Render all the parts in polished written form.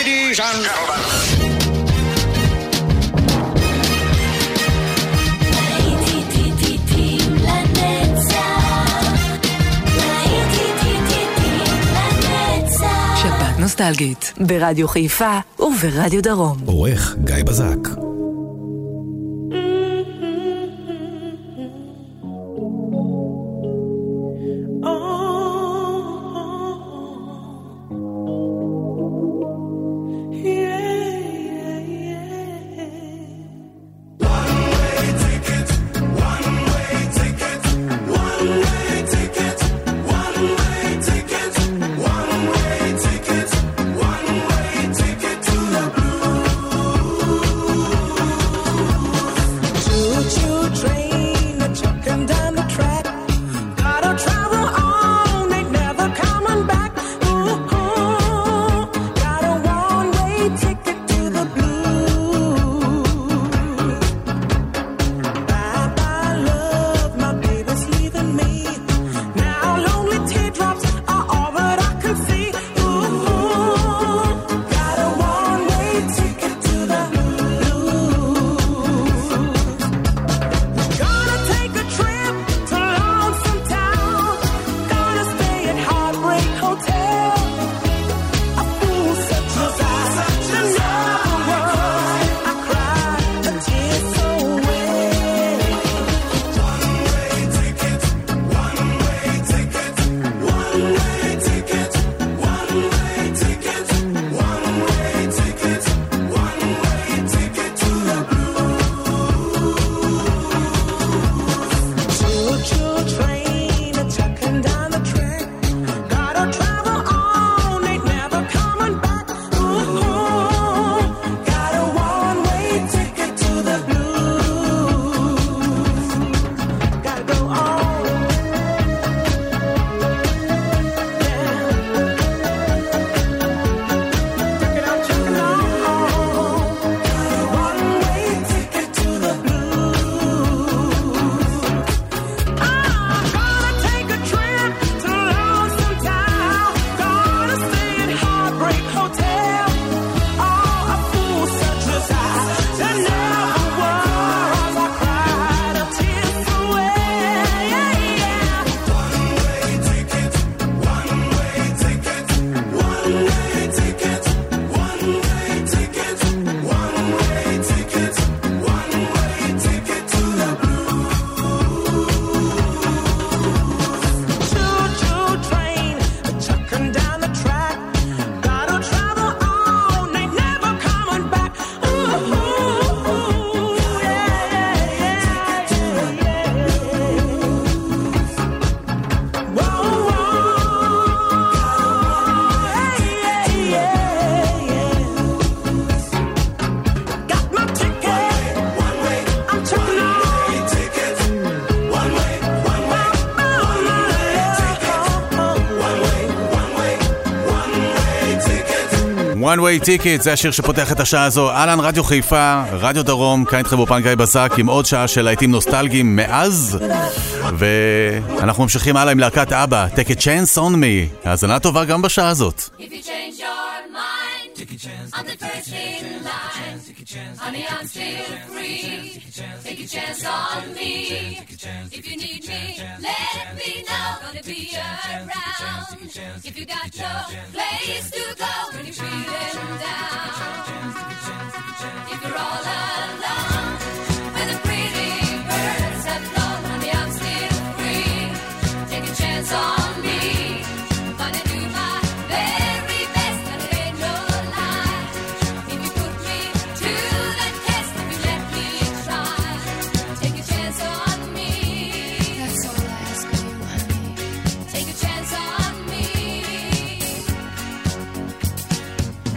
Ladies and gentlemen. שבת נוסטלגית ברדיו חיפה וברדיו דרום. עורך גיא בזק. One Way Ticket, זה השיר שפותח את השעה הזו. אהלן, רדיו חיפה, רדיו דרום, כאן איתכם באופן גיא בזק עם עוד שעה של להיטים נוסטלגיים מאז, ואנחנו ממשיכים הלאה עם להקת אבא, Take a Chance on Me. האזנה טובה גם בשעה הזאת. If you change your mind, take a chance, I'm the first in line. Honey, I'm still free. Take a chance on me. If you need me, let me know. Gonna be around. If you got no place to go when you're feeling down. If you're all alone, when the pretty birds have flown, honey, I'm still free. Take a chance on me. Gonna do my very best, and it ain't no lie. If you put me to the test, if you let me try, take a chance on me. That's all I ask of you, honey. Take a chance on me.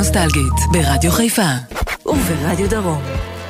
נוסטלגית ברדיו חיפה וברדיו דרום.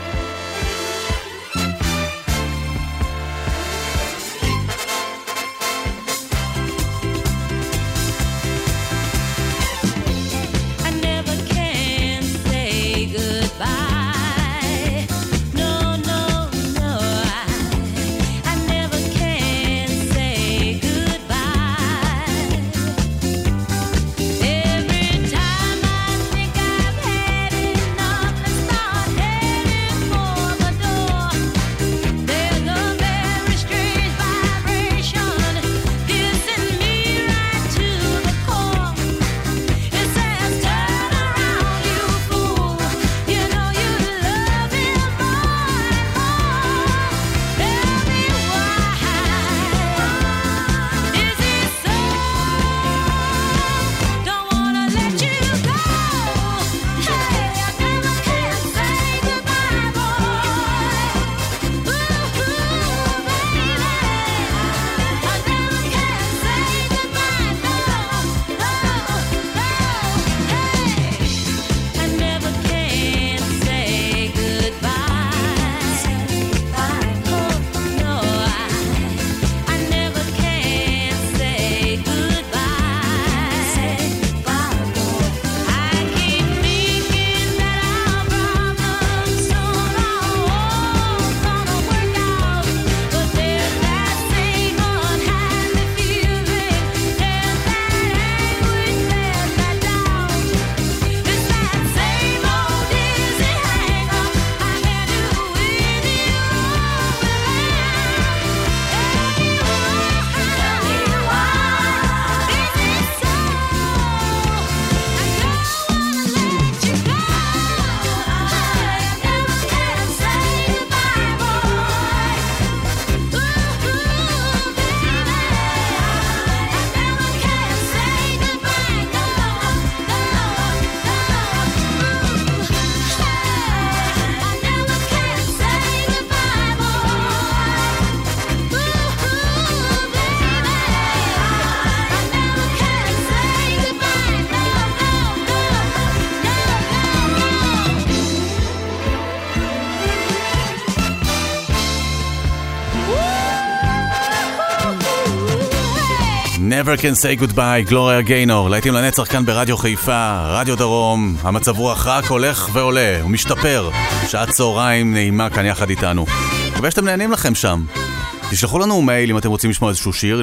Never Can Say Goodbye, גלוריה גיינור, להיטים לנצח כאן ברדיו חיפה, רדיו דרום, המצב רוח רק הולך ועולה, הוא משתפר, שעת צהריים נעימה כאן יחד איתנו. מקווה שאתם נהנים לכם שם. תשלחו לנו מייל אם אתם רוצים לשמוע איזשהו שיר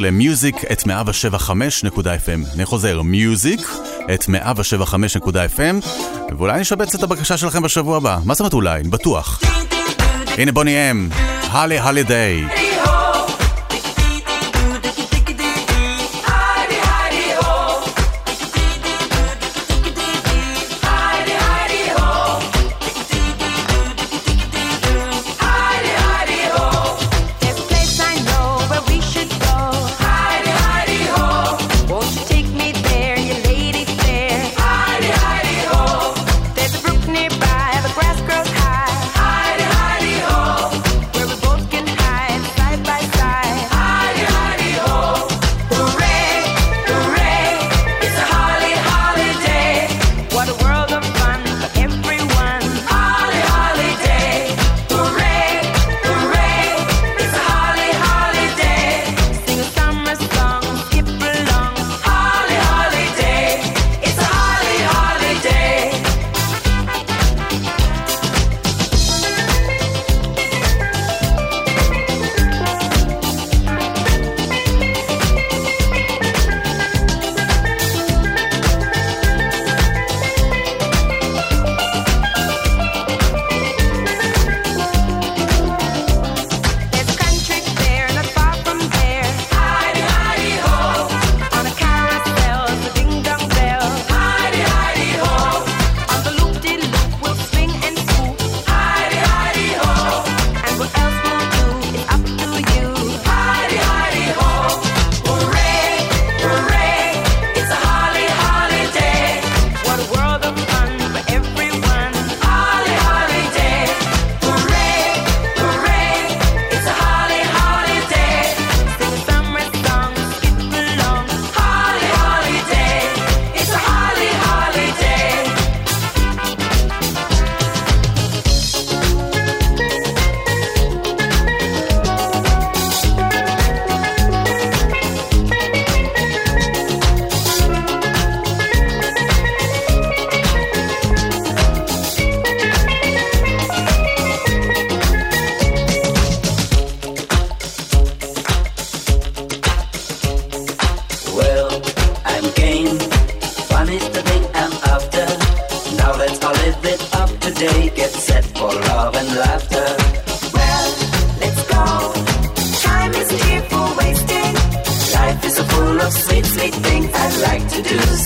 ל-music@175.fm. אני חוזר, music@175.fm, ואולי נשבץ את הבקשה שלכם בשבוע הבא. מה זאת אומרת אולי? בטוח. הנה בוני אם, הלי הלידיי. Nearby, the grass grows high. Hidey, hidey, ho. Where we both can hide.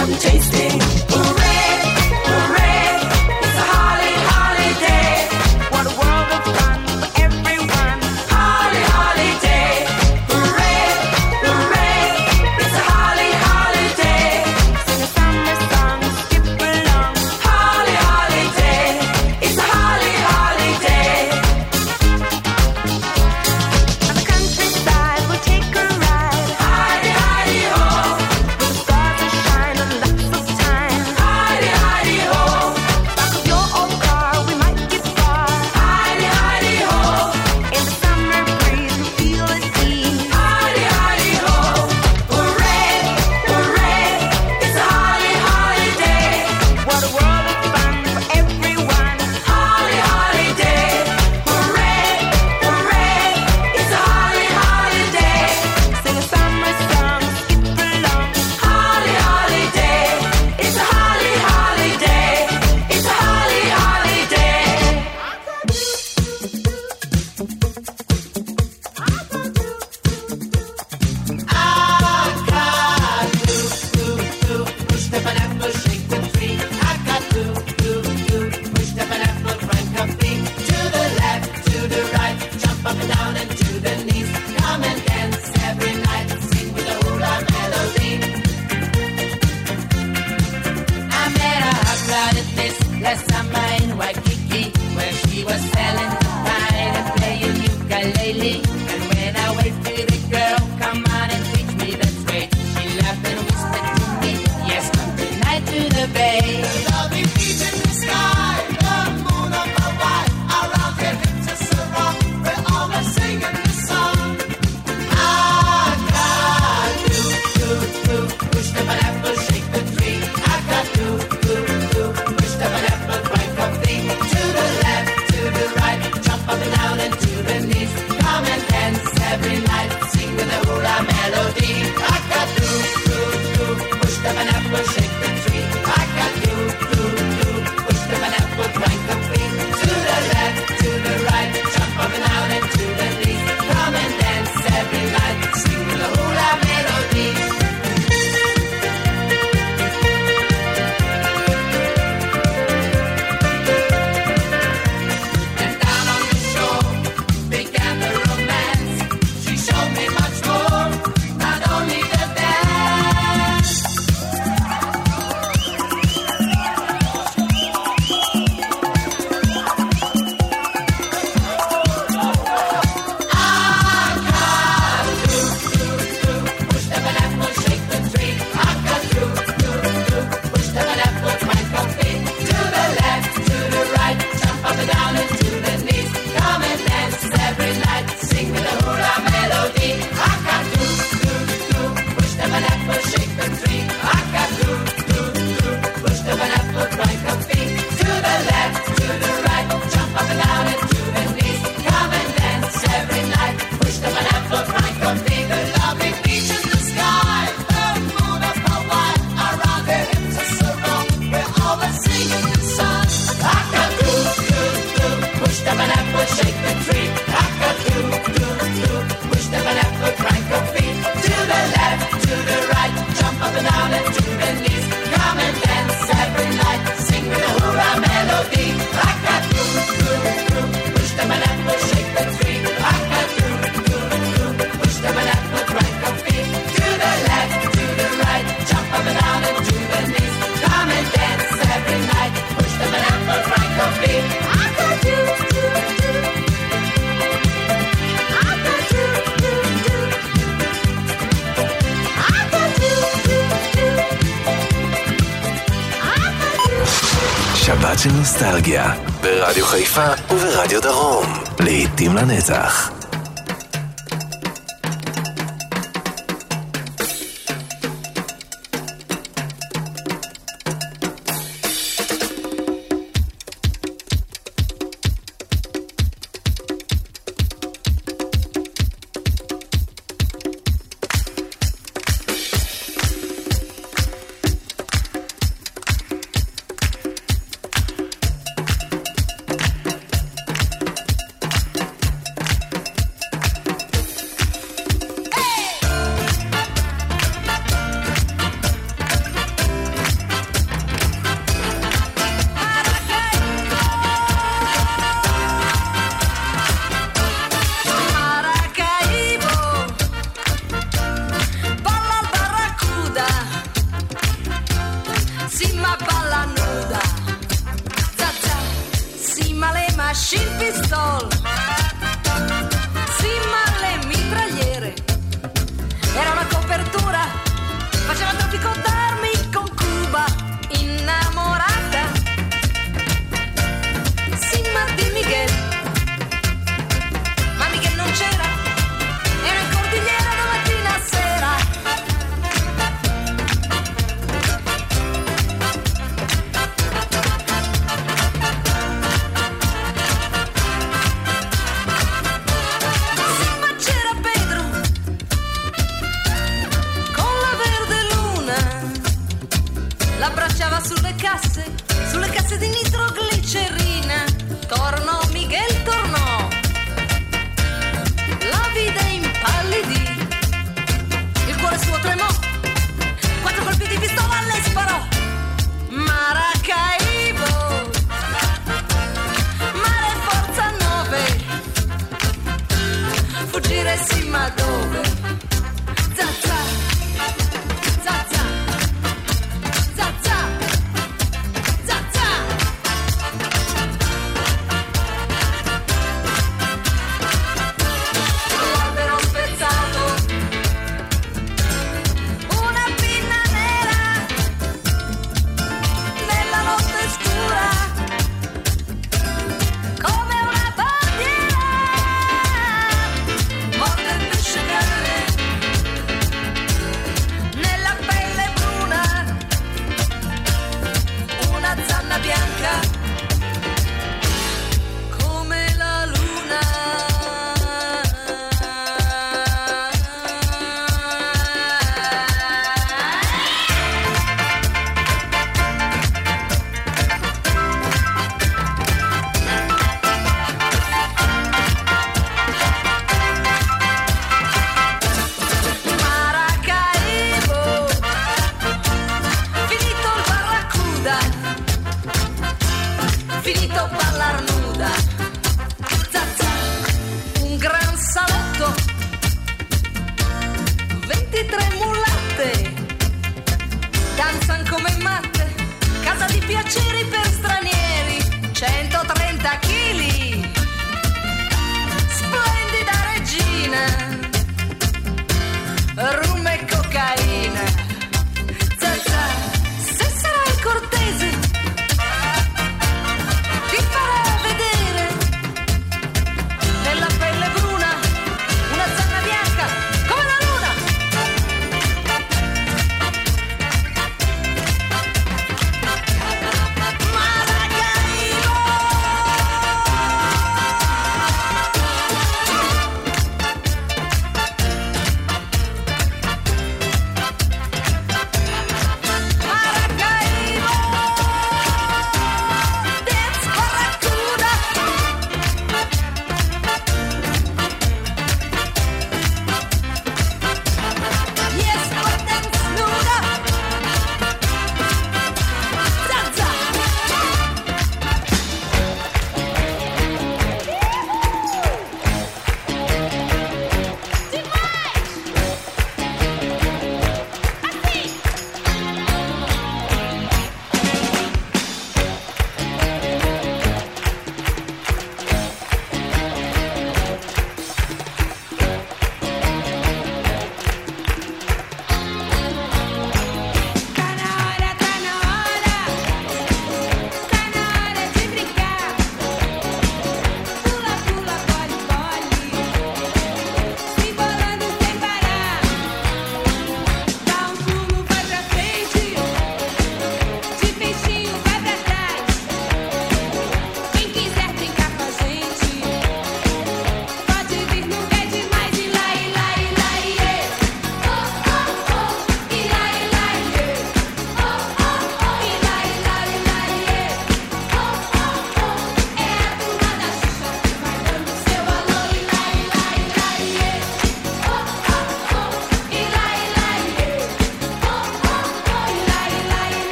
some tasting. Hooray, hooray, it's a holly holiday. What a world of fun for everyone. Holly holiday. Hooray, hooray, it's a holly holiday. Sing a summer song, skip along. Holly holiday, it's a holly holiday. On the countryside we'll take a ride. Hidey, hidey, ho. The stars will shine and lots of time. Hidey, hidey, ho. Back of your old car we might get far. Hidey, hidey, ho. In the summer breeze we feel at ease. Hidey, hidey, ho. Hooray, hooray, it's a holly holiday. What a world of fun for everyone. Holly holiday. Hooray, hooray, it's a holly holiday. Sing a summer song, skip along. Holly holiday, it's a holly holiday. It's a holly holiday. Push the pineapple, shake the tree. I got to push the pineapple, crank a feet to the left, to the right, jump up and down and to the knees. Come and dance every night, sing with the hula melody. I met a hot blood at this last summer in Waikiki, where she was selling pine and playing ukulele. And when I waved to the girl, come on and teach me the trade, she laughed and whispered to me, yes, come tonight to the bay. Lovely beach in the sky, the moon up Hawaii, around here hips us around, we're always singing the song. I got to push the pineapple, shake the tree. I got to push the pineapple, crank a feet to the left, to the right, jump up and down and to the knees. Come and dance every night, sing with the hula melody. I got to push the pineapple, shake the tree. I got to push the pineapple, crank a feet to the left, to the right, jump up and down and to the knees. Come and dance every night, sing with the hula melody. And down on the shore began the romance. She showed me much more, not only the dance. Push the pineapple, shake the tree. I got to push the pineapple, crank a feet to the left, to the right, jump up and down and to the knees. Come and dance every night, sing with the hula melody. I got to push the pineapple, shake the tree. I got to push the pineapple, crank a feet to the left, to the right, jump up and down and to the knees. Come and dance every night, push the pineapple, crank a feet. The lovely beach in the sky, the moon of Hawaii, around the hips us around, we're always singing the song. I got to push the pineapple, shake the tree. I got to push the pineapple, crank a feet to the left, to the right, jump up and down and to the knees. Come and dance every night, sing with the hula melody. I got to push the pineapple, shake the tree. I got to push the pineapple, crank a feet to the left, to the right, jump up and down and to the knees. Come and dance every night, push the pineapple, crank a feet. I got to שבת של נוסטלגיה, ברדיו חיפה וברדיו דרום, לעתים לנצח. uscire sì ma dove? Zazza, zazza, zazza, zazza. L'albero spezzato, una pinna nera nella notte scura, come una bandiera, morte il pesce nelle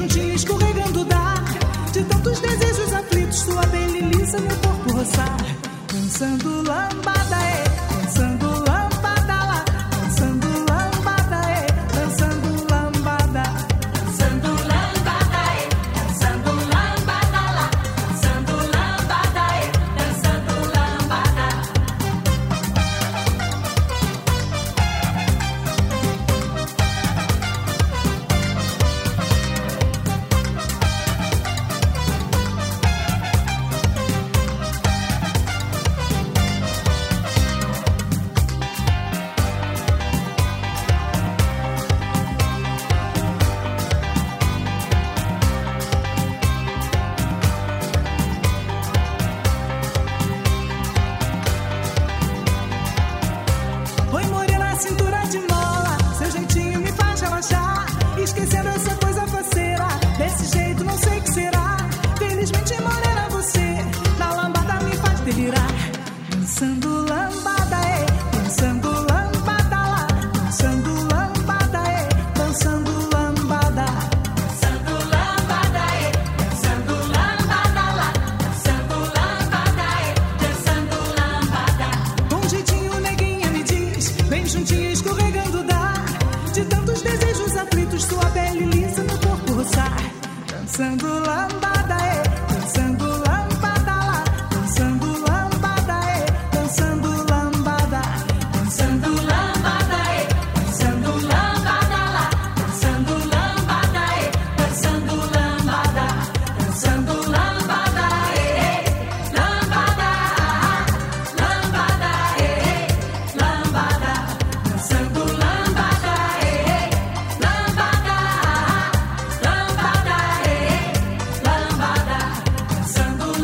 juntinho escorregando dá, de tantos desejos aflitos, sua pele lisa, meu corpo roçar. Dançando lambada, dançando lambada lá, dançando lambada, dançando lambada. Dançando lambada, dançando lambada lá, dançando lambada, dançando lambada. Oi, morena, cintura de mola, seu jeitinho me faz relaxar, esquecendo essa coisa faceira, desse jeito não sei o que será. Felizmente, morena, você na lambada me faz delirar. Dançando lambada, dançando lambada lá, dançando lambada, dançando lambada. Dançando lambada, dançando lambada lá, dançando lambada, dançando lambada. Com jeitinho, neguinha, me diz, vem juntinho escorregando dá, de tantos desejos aflitos, sua pele lisa, meu corpo roçar. Dançando lambada, dançando lambada lá, dançando lambada, dançando lambada. Dançando lambada, dançando lambada lá, dançando lambada, dançando lambada. Dançando lambada, lambada, lambada, lambada. Dançando lambada, lambada, lambada, lambada. Dançando lambada, lambada, lambada,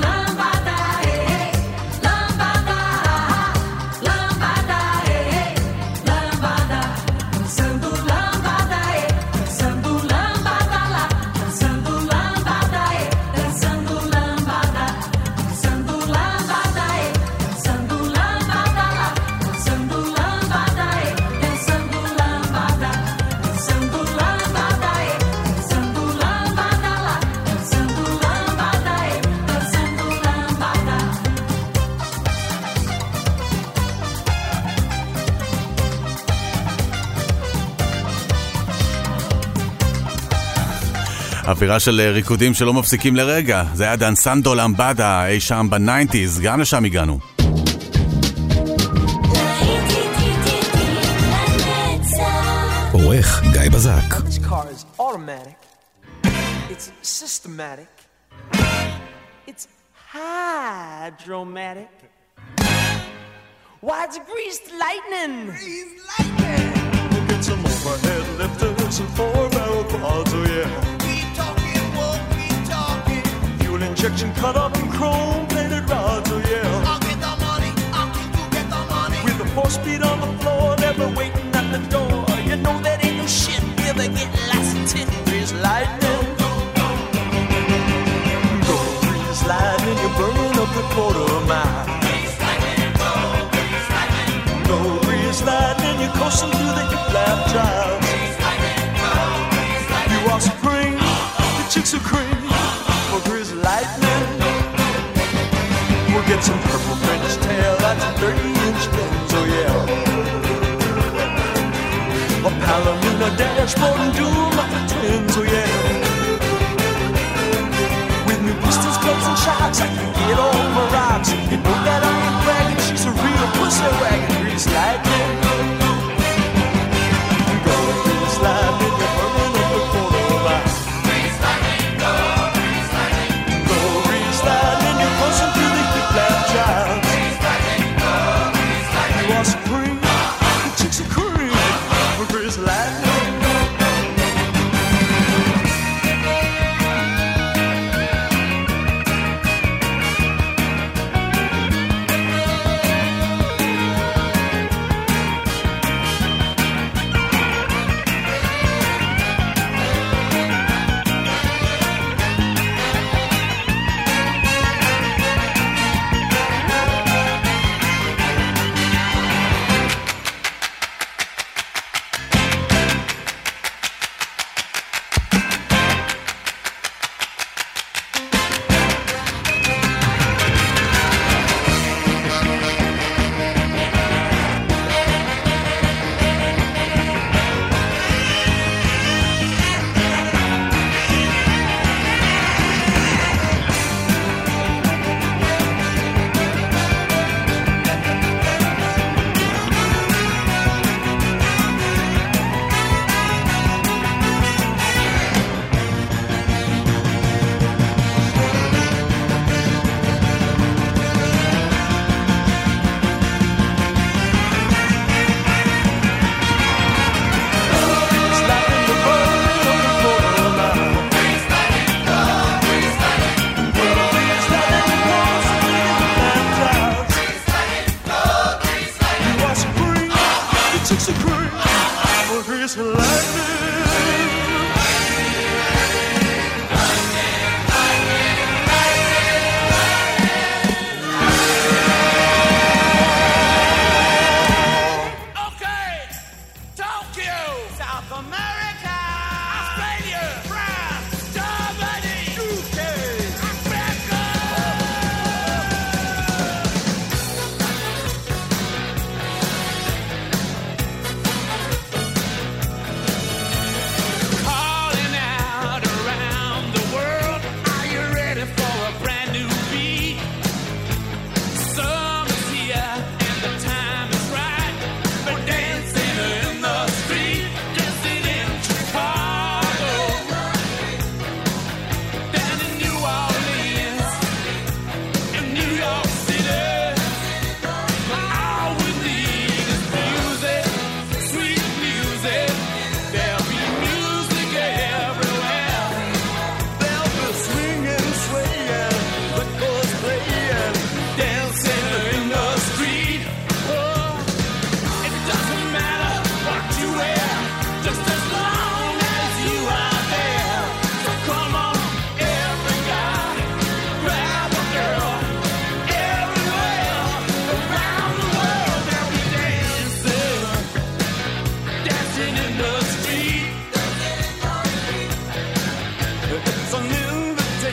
lambada. Dançando lambada, dançando lambada lá, dançando lambada, dançando lambada. Dançando lambada, dançando lambada lá, dançando lambada, dançando lambada. Dançando lambada, dançando lambada lá, dançando lambada, dançando lambada. אווירה של ריקודים שלא מפסיקים לרגע. זה היה דנסנדו למבדה אי שם ב-90s, גם לשם הגענו. עורך גיא בזק. This car is automatic. It's systematic. It's hydromatic. Why, it's greased lightning. Greased lightning. We'll get some overhead lifters and four-barrel quads, oh yeah. Keep talking, won't keep talking. Fuel injection cut up in chrome-plated rods, oh yeah. I'll get the money, I'll keep you get the money. With the 4-speed on the floor, never waiting at the door. You know that ain't no shit, never get lost in 10 degrees lightning. Go grease lightning, you're burning up the quarter mile. Go grease lightning, you're coasting through the hip-lap drive. You are spring, the chicks are cream, for grease lightning. We'll get some purple French tail, that's 30-inch guns, oh yeah. A Palomino dashboard and doom up the twins, oh yeah. With new pistols, clubs, and shocks, I can get over rocks. You know that I ain't bragging, she's a real pussy wagon. Grease lightning. Go grease lightning, you're burning up the quarter mile. Grease lightning, go, grease lightning. Go grease lightning, you're pushing through the hip-lap drive. Grease lightning, go, grease lightning. You are spring, the chicks are cream, for grease lightning.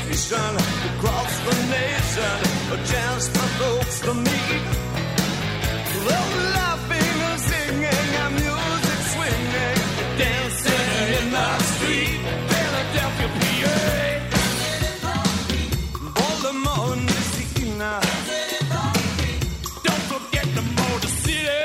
station across the nation, a chance for folks to meet. They're laughing and singing and music swinging, dancing in the street, Philadelphia, PA. Baltimore, Messina. Don't forget the Motor City.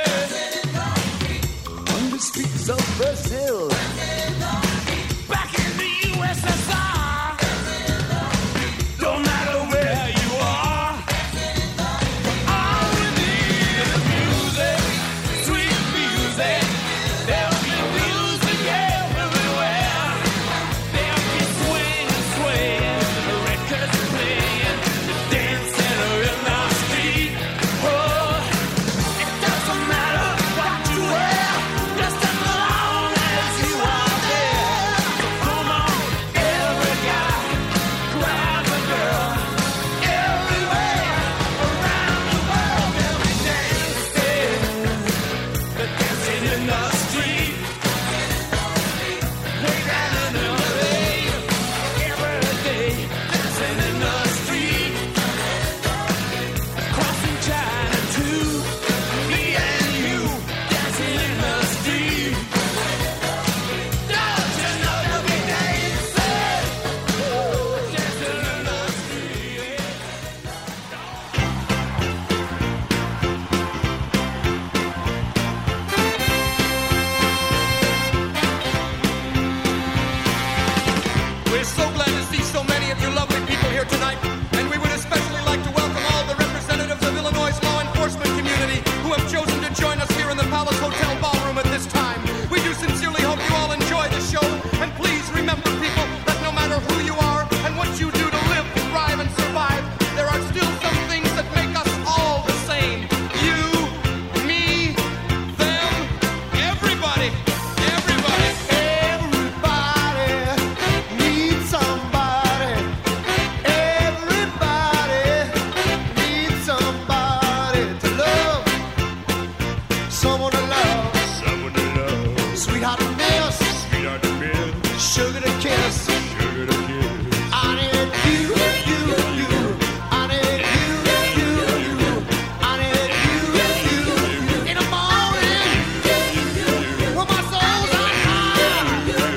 On the streets of Brazil. Back in the USSR. Don't matter where you are. All we need is music, sweet music. There'll be music everywhere. There'll be swing and swaying, the records playing, dancing in the street. Oh, it doesn't matter what you wear, just as long as you are there. So come on, every guy, grab a girl. Everywhere around the world, they'll be dancing. They're dancing in the street. Way down in LA, every day, dancing in the street. Crossing China too, me and you, dancing in the street. Don't you know they'll be dancing, dancing in the street. We're so glad to see so many of you lovely people here tonight, and we would especially like to welcome all the representatives of Illinois' law enforcement community who have chosen to join us here in the Palace Hotel Ballroom at this time. We do sincerely hope you all enjoy the show, and please remember, people, that no matter who you are and what you do to live, thrive, and survive, there are still some things that make us all the same. You, me, them, everybody, everybody. Everybody needs somebody. Everybody needs somebody to love. Someone to love. Someone to love. Sweetheart to miss. Sweetheart to miss. Sugar to kiss. Sugar to kiss. I need you, you, you. I need you, you, you. I need you, you, you. In the morning, when my soul's on fire.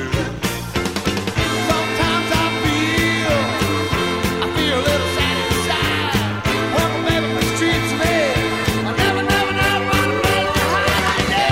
Sometimes I feel a little sad inside. When my baby mistreats me, I never run away behind you.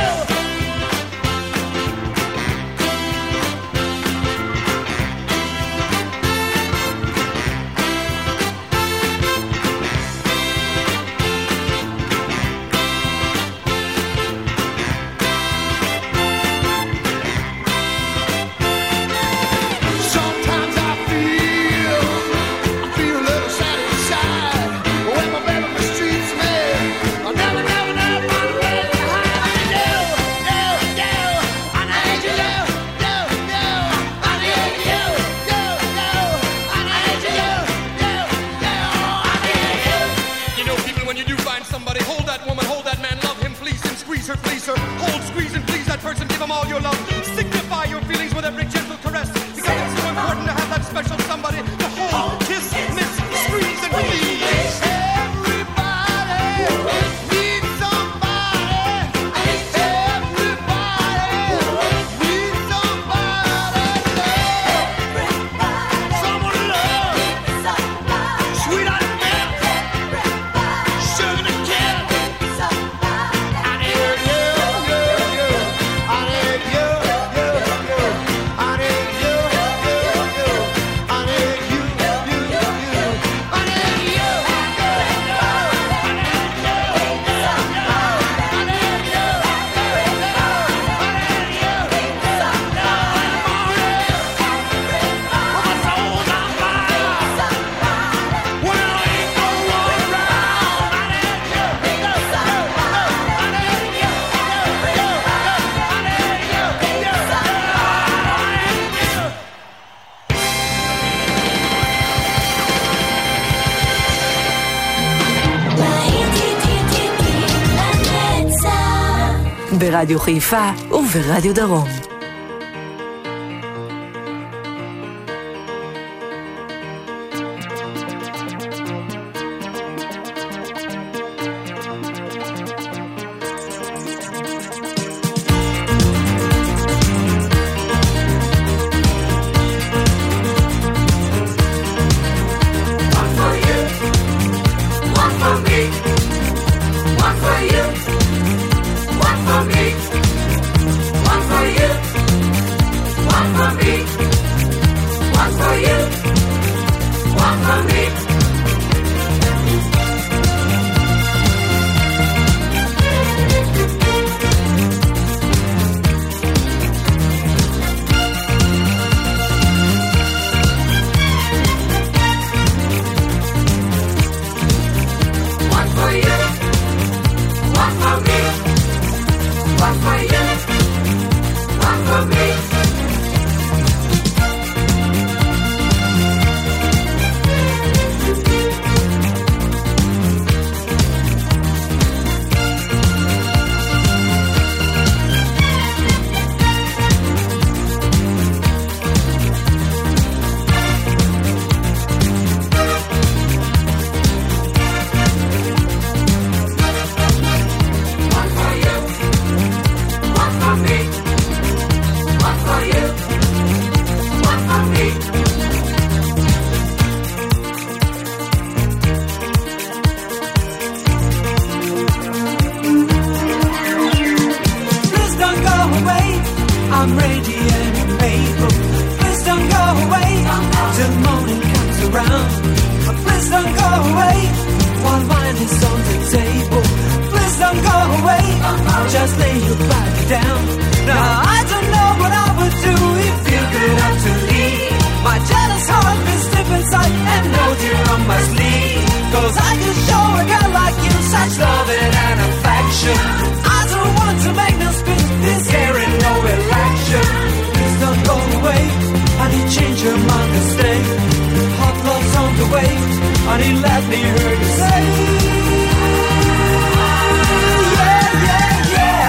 Sometimes I feel a little sad inside. When my baby mistreats me, I never run away behind you. I need you, I need you, I need you, I need you. You know, people, when you do find somebody, hold that woman, hold that man, love him, fleece him, squeeze her, please her. Hold, squeeze, and please that person, give him all your love. Signify your feelings with every gentle caress, because it's so important to have that special somebody to hold, kiss, miss, squeeze, and please. Everybody needs somebody. Everybody needs somebody to love. Someone to love. Sweetheart to miss. Sugar to kiss. I need you, you, you. I need you, you, you. I need you, you, you. I need you, you, you. I need you, you, you. ברדיו חיפה וברדיו דרום. away, and he let me hear you say, yeah, yeah, yeah.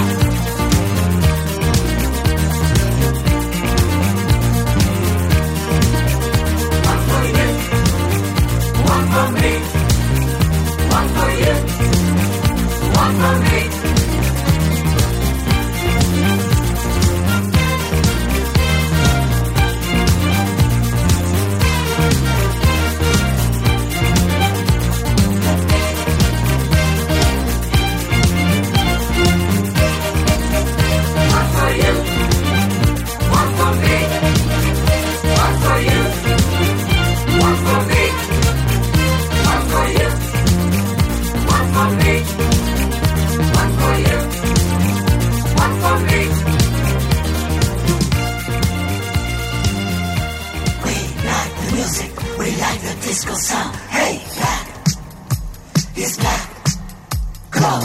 One for you, one for me, one for you, one for me. Disco sound, hey, black, it's black, come on.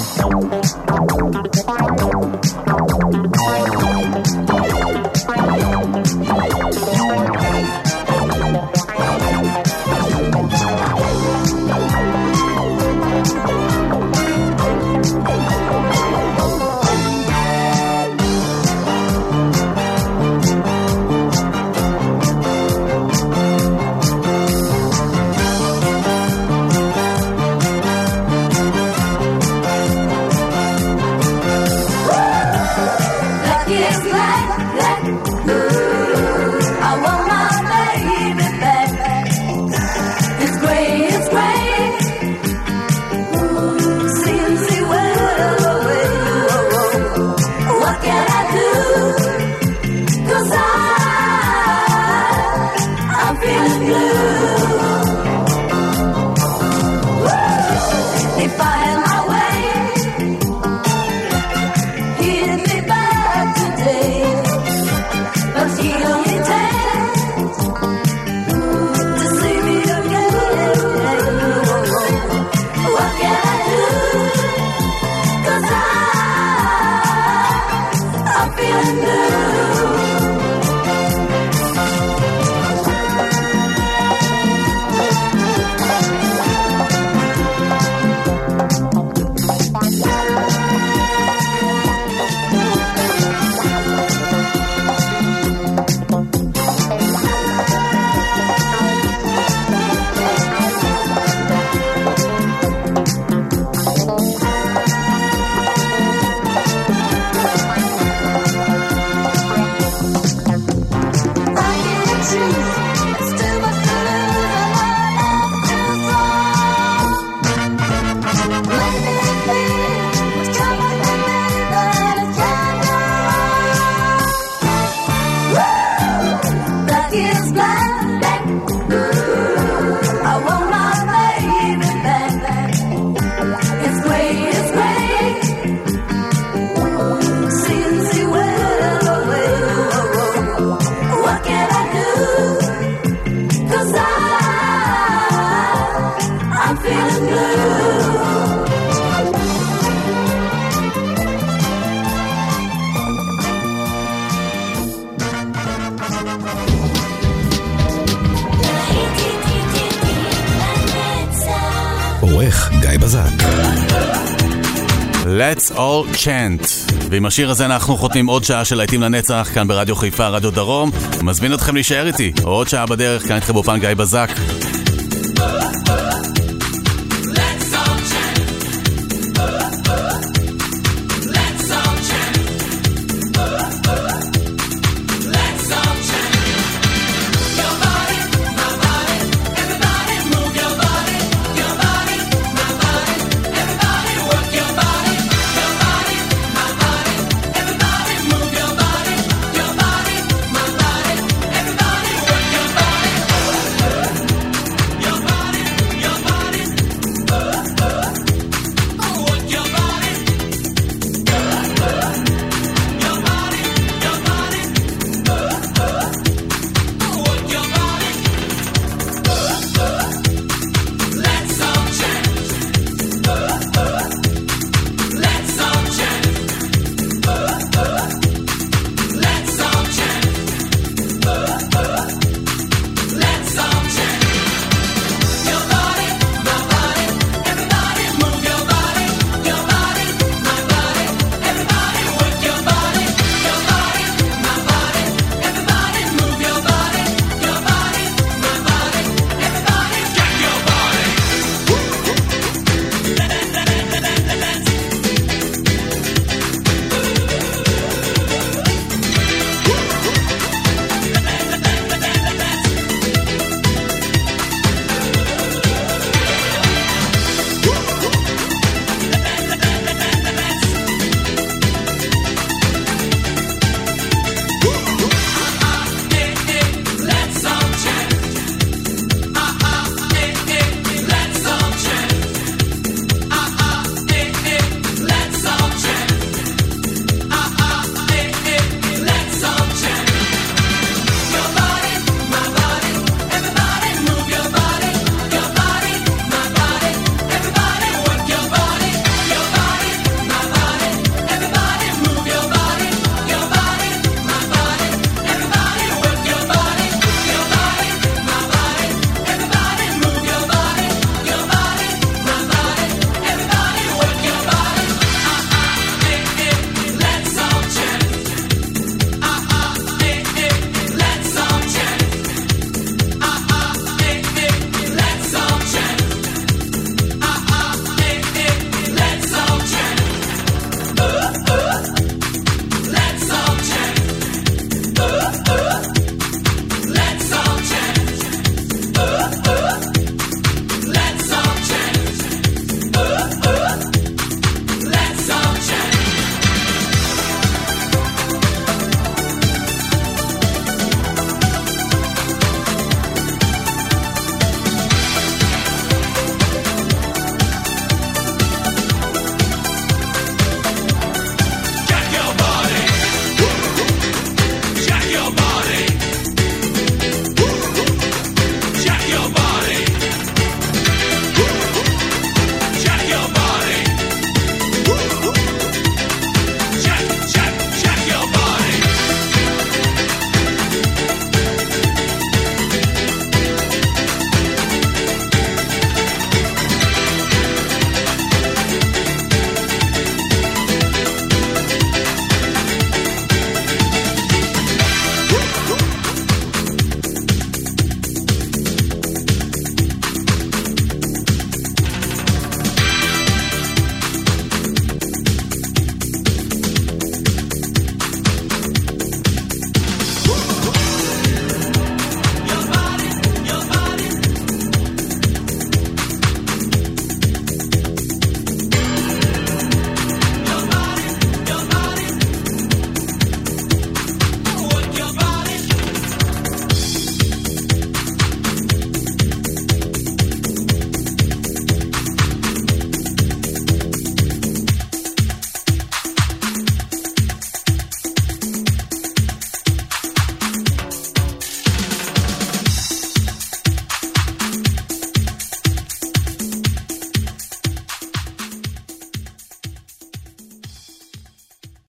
עורך גיא בזק. Let's all chant. ועם השיר הזה אנחנו חותמים עוד שעה של להיטים לנצח כאן ברדיו חיפה, רדיו דרום. מזמין אתכם להישאר איתי עוד שעה בדרך, כאן איתכם באופן גיא בזק.